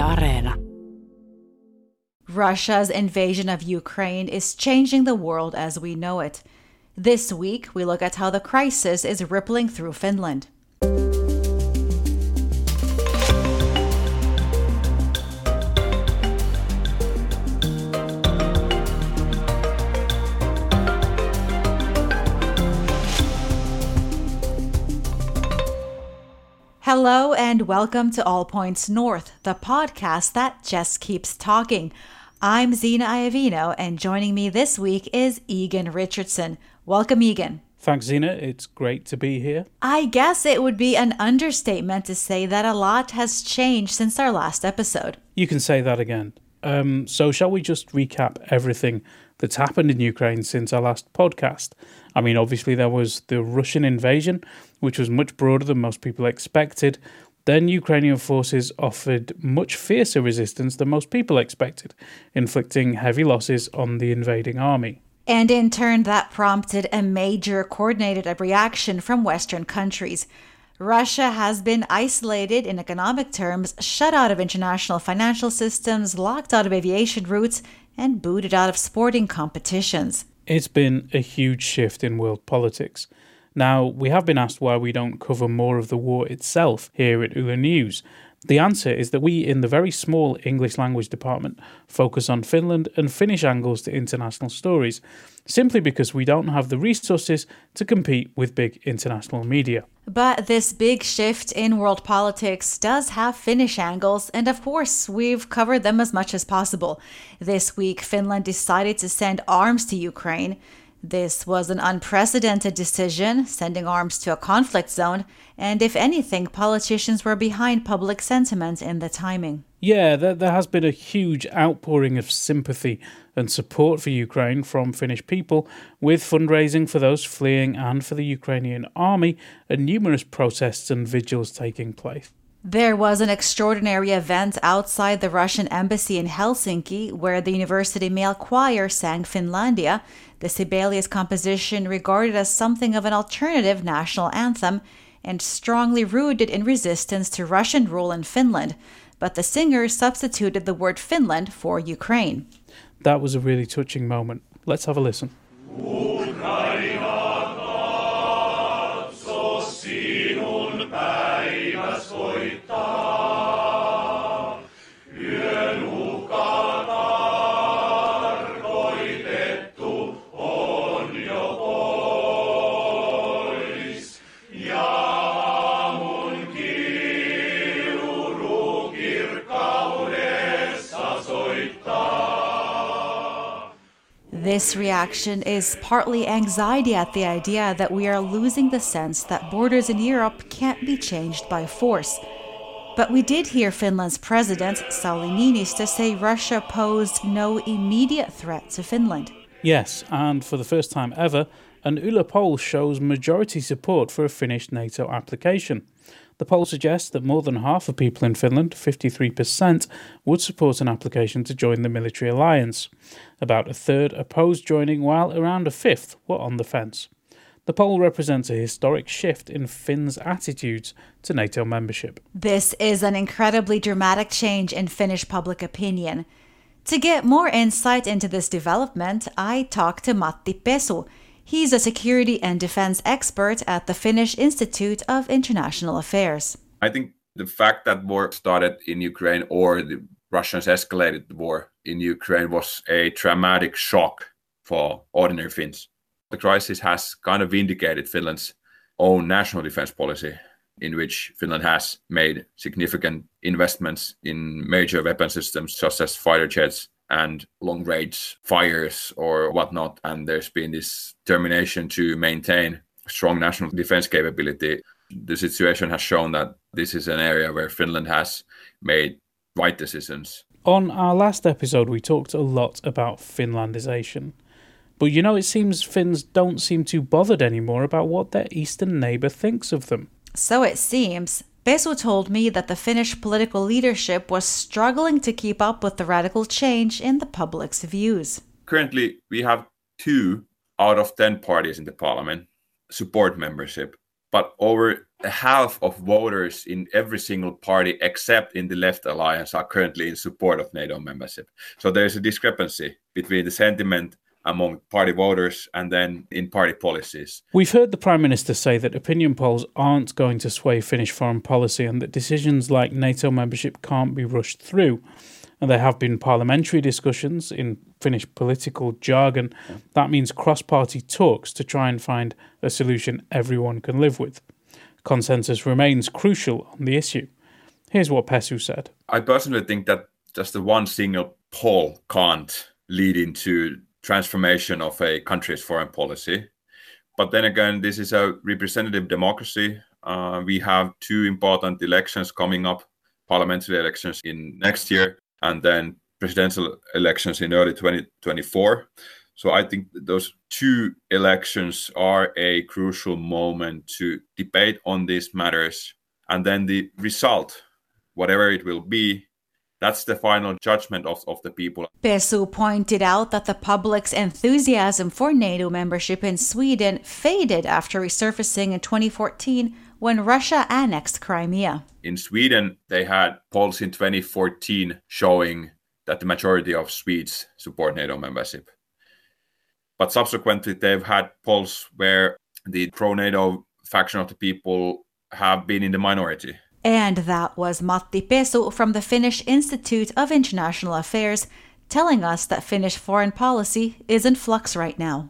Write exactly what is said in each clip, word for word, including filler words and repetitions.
Areena. Russia's invasion of Ukraine is changing the world as we know it. This week, we look at how the crisis is rippling through Finland. Hello and welcome to All Points North, the podcast that just keeps talking. I'm Zena Iovino, and joining me this week is Egan Richardson. Welcome, Egan. Thanks, Zena. It's great to be here. I guess it would be an understatement to say that a lot has changed since our last episode. You can say that again. Um, so shall we just recap everything that's happened in Ukraine since our last podcast? I mean, obviously there was the Russian invasion, which was much broader than most people expected. Then Ukrainian forces offered much fiercer resistance than most people expected, inflicting heavy losses on the invading army. And in turn, that prompted a major coordinated reaction from Western countries. Russia has been isolated in economic terms, shut out of international financial systems, locked out of aviation routes, and booted out of sporting competitions. It's been a huge shift in world politics. Now, we have been asked why we don't cover more of the war itself here at Yle News. The answer is that we, in the very small English language department, focus on Finland and Finnish angles to international stories, simply because we don't have the resources to compete with big international media. But this big shift in world politics does have Finnish angles, and of course, we've covered them as much as possible. This week, Finland decided to send arms to Ukraine. This was an unprecedented decision, sending arms to a conflict zone, and if anything, politicians were behind public sentiment in the timing. Yeah, there, there has been a huge outpouring of sympathy and support for Ukraine from Finnish people, with fundraising for those fleeing and for the Ukrainian army, and numerous protests and vigils taking place. There was an extraordinary event outside the Russian embassy in Helsinki where the university male choir sang Finlandia, the Sibelius composition regarded as something of an alternative national anthem and strongly rooted in resistance to Russian rule in Finland. But the singer substituted the word Finland for Ukraine. That was a really touching moment. Let's have a listen. This reaction is partly anxiety at the idea that we are losing the sense that borders in Europe can't be changed by force. But we did hear Finland's president, Sauli Niinistö, say Russia posed no immediate threat to Finland. Yes, and for the first time ever, an Yle poll shows majority support for a Finnish NATO application. The poll suggests that more than half of people in Finland, fifty-three percent, would support an application to join the military alliance. About a third opposed joining, while around a fifth were on the fence. The poll represents a historic shift in Finns' attitudes to NATO membership. This is an incredibly dramatic change in Finnish public opinion. To get more insight into this development, I talked to Matti Pesu. He's a security and defense expert at the Finnish Institute of International Affairs. I think the fact that war started in Ukraine or the Russians escalated the war in Ukraine was a traumatic shock for ordinary Finns. The crisis has kind of vindicated Finland's own national defense policy, in which Finland has made significant investments in major weapon systems such as fighter jets and long-range fires or whatnot. And there's been this determination to maintain strong national defense capability. The situation has shown that this is an area where Finland has made right decisions. On our last episode, we talked a lot about Finlandization. But you know, it seems Finns don't seem too bothered anymore about what their eastern neighbour thinks of them. So it seems. Pesu told me that the Finnish political leadership was struggling to keep up with the radical change in the public's views. Currently, we have two out of ten parties in the parliament support membership. But over half of voters in every single party except in the left alliance are currently in support of NATO membership. So there's a discrepancy between the sentiment among party voters and then in party policies. We've heard the Prime Minister say that opinion polls aren't going to sway Finnish foreign policy and that decisions like NATO membership can't be rushed through. And there have been parliamentary discussions in Finnish political jargon. That means cross-party talks to try and find a solution everyone can live with. Consensus remains crucial on the issue. Here's what Pesu said. I personally think that just the one single poll can't lead into transformation of a country's foreign policy. But then again, this is a representative democracy. Uh, we have two important elections coming up, parliamentary elections in next year, and then presidential elections in early twenty twenty-four. So I think those two elections are a crucial moment to debate on these matters. And then the result, whatever it will be, that's the final judgment of, of the people. Pesu pointed out that the public's enthusiasm for NATO membership in Sweden faded after resurfacing in twenty fourteen when Russia annexed Crimea. In Sweden, they had polls in twenty fourteen showing that the majority of Swedes support NATO membership. But subsequently, they've had polls where the pro-NATO faction of the people have been in the minority. And that was Matti Pesu from the Finnish Institute of International Affairs telling us that Finnish foreign policy is in flux right now.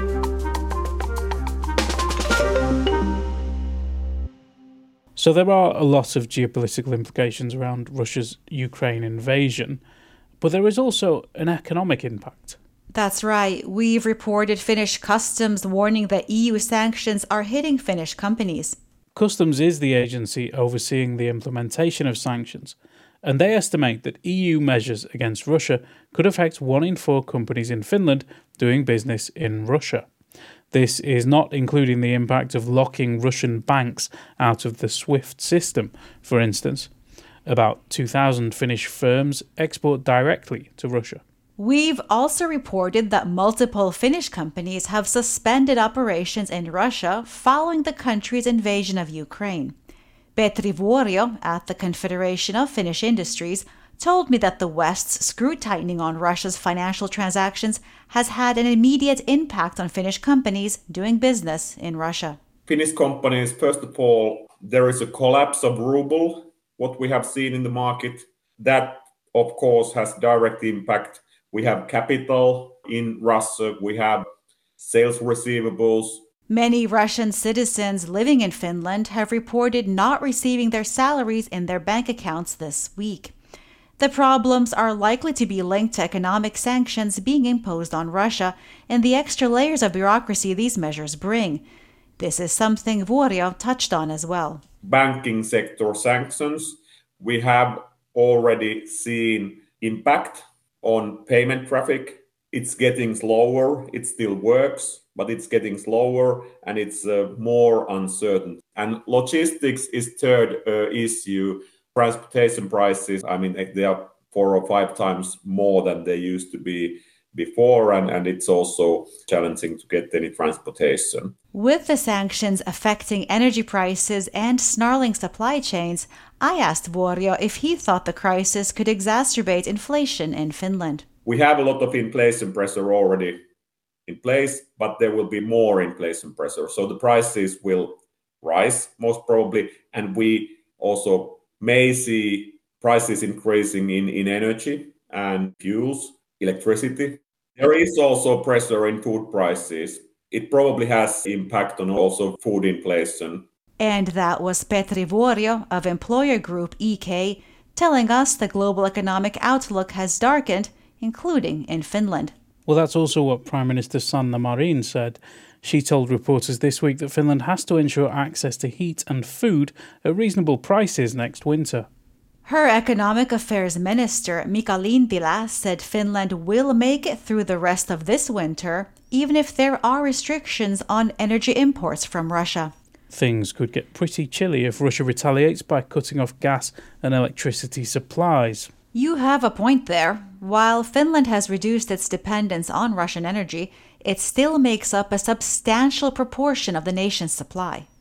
So there are a lot of geopolitical implications around Russia's Ukraine invasion, but there is also an economic impact. That's right. We've reported Finnish customs warning that E U sanctions are hitting Finnish companies. Customs is the agency overseeing the implementation of sanctions, and they estimate that E U measures against Russia could affect one in four companies in Finland doing business in Russia. This is not including the impact of locking Russian banks out of the SWIFT system, for instance. About two thousand Finnish firms export directly to Russia. We've also reported that multiple Finnish companies have suspended operations in Russia following the country's invasion of Ukraine. Petri Vuorio at the Confederation of Finnish Industries told me that the West's screw-tightening on Russia's financial transactions has had an immediate impact on Finnish companies doing business in Russia. Finnish companies, first of all, there is a collapse of ruble, what we have seen in the market. That, of course, has direct impact. We have capital in Russia. We have sales receivables. Many Russian citizens living in Finland have reported not receiving their salaries in their bank accounts this week. The problems are likely to be linked to economic sanctions being imposed on Russia and the extra layers of bureaucracy these measures bring. This is something Vuorio touched on as well. Banking sector sanctions. We have already seen impact on payment traffic. It's getting slower. It still works, but it's getting slower and it's uh, more uncertain. And logistics is third uh, issue. Transportation prices, I mean, they are four or five times more than they used to be before, and, and it's also challenging to get any transportation. With the sanctions affecting energy prices and snarling supply chains, I asked Vuorio if he thought the crisis could exacerbate inflation in Finland. We have a lot of inflation pressure already in place, but there will be more inflation pressure. So the prices will rise most probably, and we also may see prices increasing in, in energy and fuels, electricity. There is also pressure in food prices. It probably has impact on also food inflation. And that was Petri Vuorio of employer group E K telling us the global economic outlook has darkened, including in Finland. Well, that's also what Prime Minister Sanna Marin said. She told reporters this week that Finland has to ensure access to heat and food at reasonable prices next winter. Her economic affairs minister, Mika Lintilä, said Finland will make it through the rest of this winter, even if there are restrictions on energy imports from Russia. Things could get pretty chilly if Russia retaliates by cutting off gas and electricity supplies. You have a point there. While Finland has reduced its dependence on Russian energy, it still makes up a substantial proportion of the nation's supply.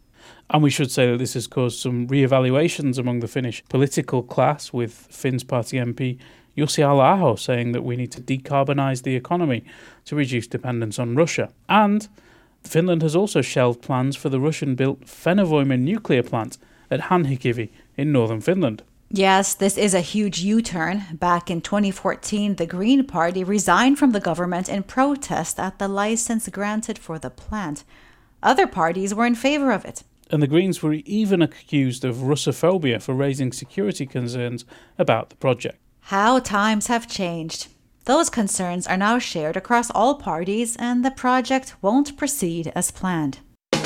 And we should say that this has caused some re-evaluations among the Finnish political class, with Finn's party M P Jussi Halla-aho saying that we need to decarbonise the economy to reduce dependence on Russia. And Finland has also shelved plans for the Russian-built Fennovoima nuclear plant at Hanhikivi in northern Finland. Yes, this is a huge U-turn. Back in twenty fourteen, the Green Party resigned from the government in protest at the license granted for the plant. Other parties were in favour of it. And the Greens were even accused of Russophobia for raising security concerns about the project. How times have changed. Those concerns are now shared across all parties, and the project won't proceed as planned.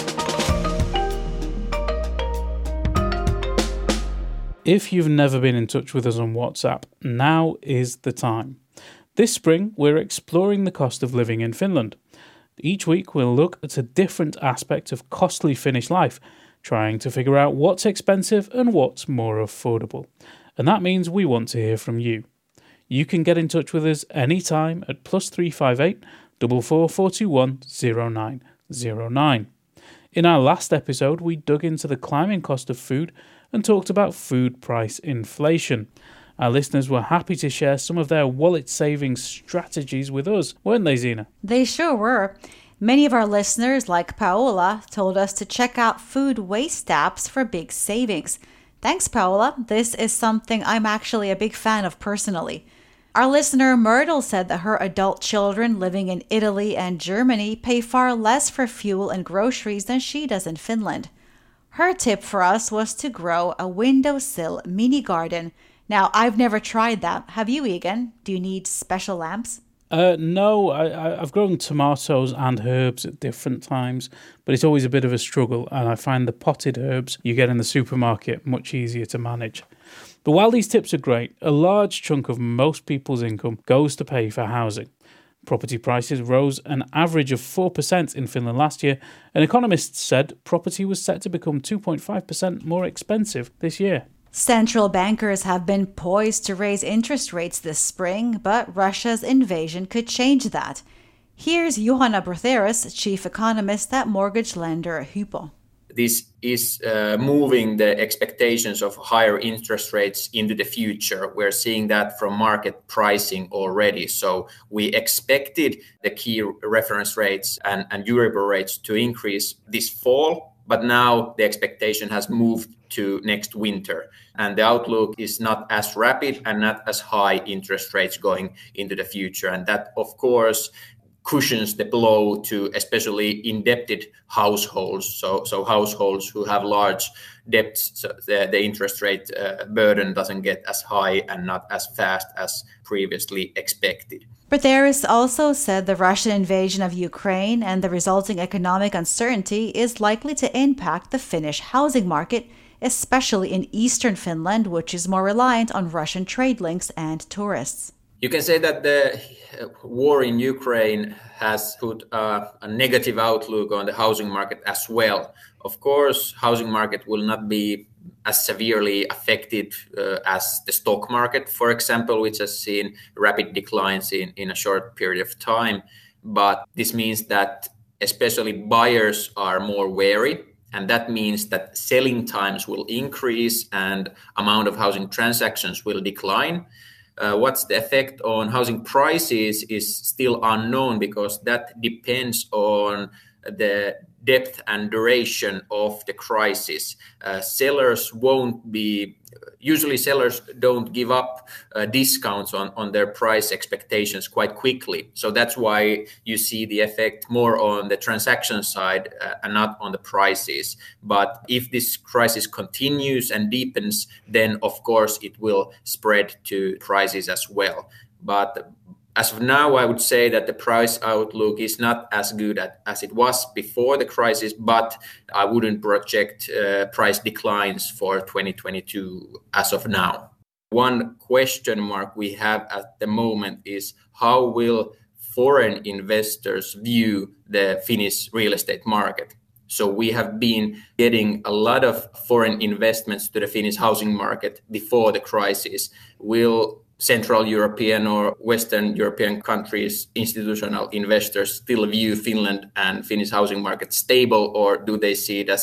If you've never been in touch with us on WhatsApp, now is the time. This spring, we're exploring the cost of living in Finland. Each week, we'll look at a different aspect of costly Finnish life, trying to figure out what's expensive and what's more affordable. And that means we want to hear from you. You can get in touch with us anytime at plus three five eight, four four four two one, zero nine zero nine. In our last episode, we dug into the climbing cost of food and talked about food price inflation. Our listeners were happy to share some of their wallet saving strategies with us, weren't they, Zena? They sure were. Many of our listeners, like Paola, told us to check out food waste apps for big savings. Thanks, Paola. This is something I'm actually a big fan of personally. Our listener Myrtle said that her adult children living in Italy and Germany pay far less for fuel and groceries than she does in Finland. Her tip for us was to grow a windowsill mini garden. Now, I've never tried that. Have you, Egan? Do you need special lamps? Uh, no, I, I've grown tomatoes and herbs at different times, but it's always a bit of a struggle, and I find the potted herbs you get in the supermarket much easier to manage. But while these tips are great, a large chunk of most people's income goes to pay for housing. Property prices rose an average of four percent in Finland last year, and economists said property was set to become two point five percent more expensive this year. Central bankers have been poised to raise interest rates this spring, but Russia's invasion could change that. Here's Juhana Brotheras, chief economist at mortgage lender Hypo. This is uh, moving the expectations of higher interest rates into the future. We're seeing that from market pricing already. So we expected the key reference rates and, and Euribor rates to increase this fall, but now the expectation has moved to next winter. And the outlook is not as rapid and not as high interest rates going into the future. And that, of course, cushions the blow to especially indebted households. So, so households who have large debts, so the, the interest rate uh, burden doesn't get as high and not as fast as previously expected. Brotheras also said the Russian invasion of Ukraine and the resulting economic uncertainty is likely to impact the Finnish housing market, especially in eastern Finland, which is more reliant on Russian trade links and tourists. You can say that the war in Ukraine has put uh, a negative outlook on the housing market as well. Of course, housing market will not be as severely affected uh, as the stock market, for example, which has seen rapid declines in, in a short period of time. But this means that especially buyers are more wary. And that means that selling times will increase and amount of housing transactions will decline. Uh, what's the effect on housing prices is still unknown because that depends on the depth and duration of the crisis. Uh, sellers won't be, usually sellers don't give up uh, discounts on, on their price expectations quite quickly. So that's why you see the effect more on the transaction side uh, and not on the prices. But if this crisis continues and deepens, then of course it will spread to prices as well. But as of now, I would say that the price outlook is not as good at, as it was before the crisis, but I wouldn't project uh, price declines for twenty twenty-two as of now. One question mark we have at the moment is how will foreign investors view the Finnish real estate market? So we have been getting a lot of foreign investments to the Finnish housing market before the crisis. Will Central European or Western European countries, institutional investors still view Finland and Finnish housing market stable, or do they see it as a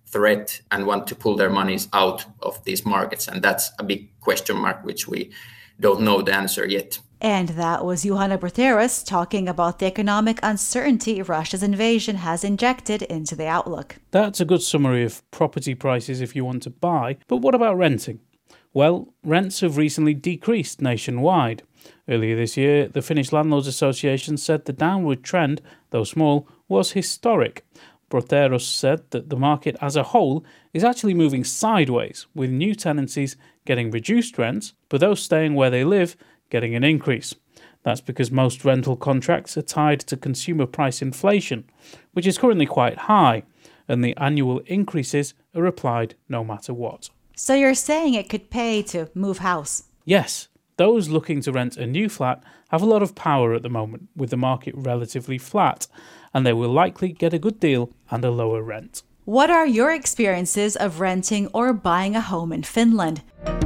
threat and want to pull their monies out of these markets. And that's a big question mark, which we don't know the answer yet. And that was Juhana Bruteras talking about the economic uncertainty Russia's invasion has injected into the outlook. That's a good summary of property prices if you want to buy, but what about renting? Well, rents have recently decreased nationwide. Earlier this year, the Finnish Landlords Association said the downward trend, though small, was historic. Bruteras said that the market as a whole is actually moving sideways, with new tenancies getting reduced rents, but those staying where they live getting an increase. That's because most rental contracts are tied to consumer price inflation, which is currently quite high, and the annual increases are applied no matter what. So you're saying it could pay to move house? Yes. Those looking to rent a new flat have a lot of power at the moment, with the market relatively flat, and they will likely get a good deal and a lower rent. What are your experiences of renting or buying a home in Finland?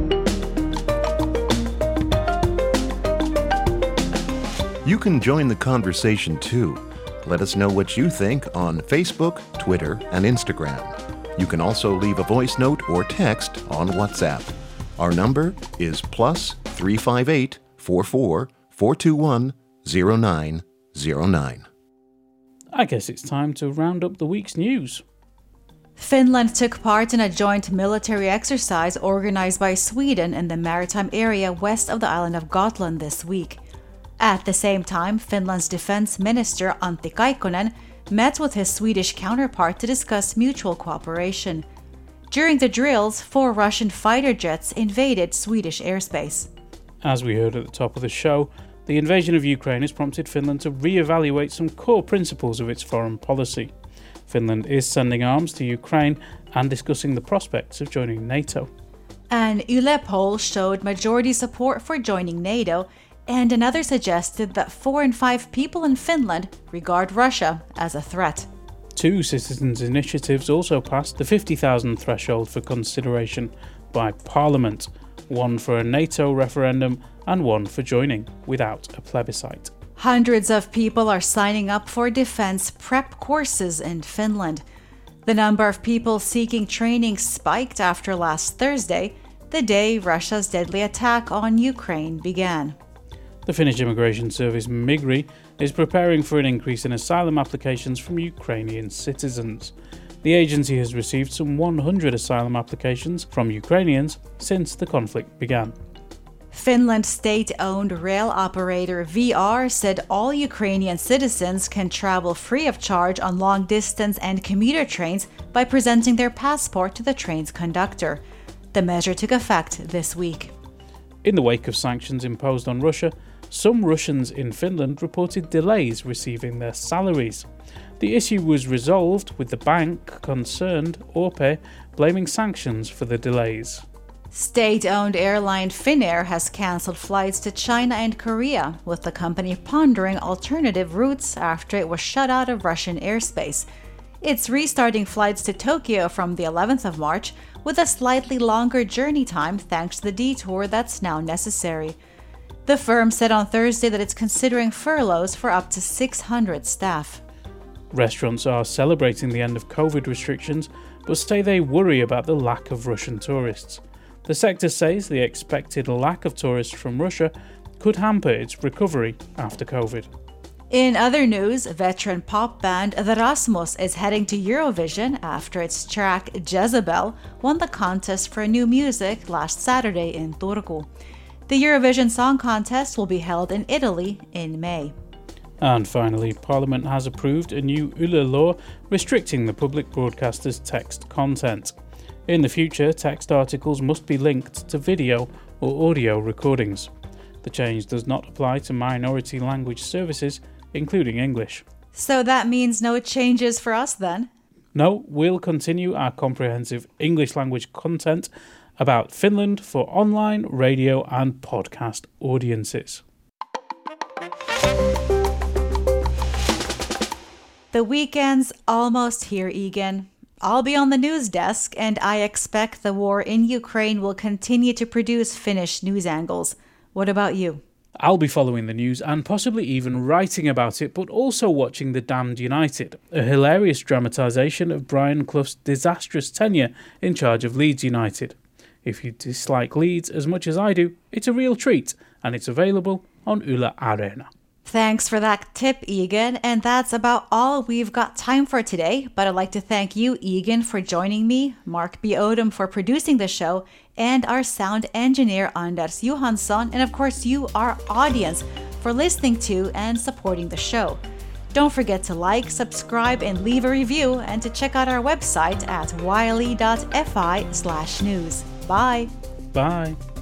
You can join the conversation too. Let us know what you think on Facebook, Twitter, and Instagram. You can also leave a voice note or text on WhatsApp. Our number is plus three five eight, four four, four two one, zero nine zero nine. I guess it's time to round up the week's news. Finland took part in a joint military exercise organized by Sweden in the maritime area west of the island of Gotland this week. At the same time, Finland's defense minister Antti Kaikkonen met with his Swedish counterpart to discuss mutual cooperation. During the drills, four Russian fighter jets invaded Swedish airspace. As we heard at the top of the show, the invasion of Ukraine has prompted Finland to re-evaluate some core principles of its foreign policy. Finland is sending arms to Ukraine and discussing the prospects of joining NATO. An Yle poll showed majority support for joining NATO, and another suggested that four in five people in Finland regard Russia as a threat. Two citizens' initiatives also passed the fifty thousand threshold for consideration by Parliament, one for a NATO referendum and one for joining without a plebiscite. Hundreds of people are signing up for defense prep courses in Finland. The number of people seeking training spiked after last Thursday, the day Russia's deadly attack on Ukraine began. The Finnish immigration service Migri is preparing for an increase in asylum applications from Ukrainian citizens. The agency has received some one hundred asylum applications from Ukrainians since the conflict began. Finland's state-owned rail operator V R said all Ukrainian citizens can travel free of charge on long-distance and commuter trains by presenting their passport to the train's conductor. The measure took effect this week. In the wake of sanctions imposed on Russia, some Russians in Finland reported delays receiving their salaries. The issue was resolved with the bank concerned, O P, blaming sanctions for the delays. State-owned airline Finnair has cancelled flights to China and Korea, with the company pondering alternative routes after it was shut out of Russian airspace. It's restarting flights to Tokyo from the eleventh of March, with a slightly longer journey time thanks to the detour that's now necessary. The firm said on Thursday that it's considering furloughs for up to six hundred staff. Restaurants are celebrating the end of COVID restrictions, but say they worry about the lack of Russian tourists. The sector says the expected lack of tourists from Russia could hamper its recovery after COVID. In other news, veteran pop band The Rasmus is heading to Eurovision after its track Jezebel won the contest for new music last Saturday in Turku. The Eurovision Song Contest will be held in Italy in May. And finally, Parliament has approved a new Yle law restricting the public broadcaster's text content. In the future, text articles must be linked to video or audio recordings. The change does not apply to minority language services, including English. So that means no changes for us then? No, we'll continue our comprehensive English language content about Finland for online, radio and podcast audiences. The weekend's almost here, Egan. I'll be on the news desk, and I expect the war in Ukraine will continue to produce Finnish news angles. What about you? I'll be following the news and possibly even writing about it, but also watching The Damned United, a hilarious dramatisation of Brian Clough's disastrous tenure in charge of Leeds United. If you dislike Leeds as much as I do, it's a real treat, and it's available on Yle Areena. Thanks for that tip, Egan. And that's about all we've got time for today. But I'd like to thank you, Egan, for joining me, Mark B. Odom for producing the show, and our sound engineer, Anders Johansson, and of course you, our audience, for listening to and supporting the show. Don't forget to like, subscribe, and leave a review, and to check out our website at wiley dot f i slash news. Bye! Bye!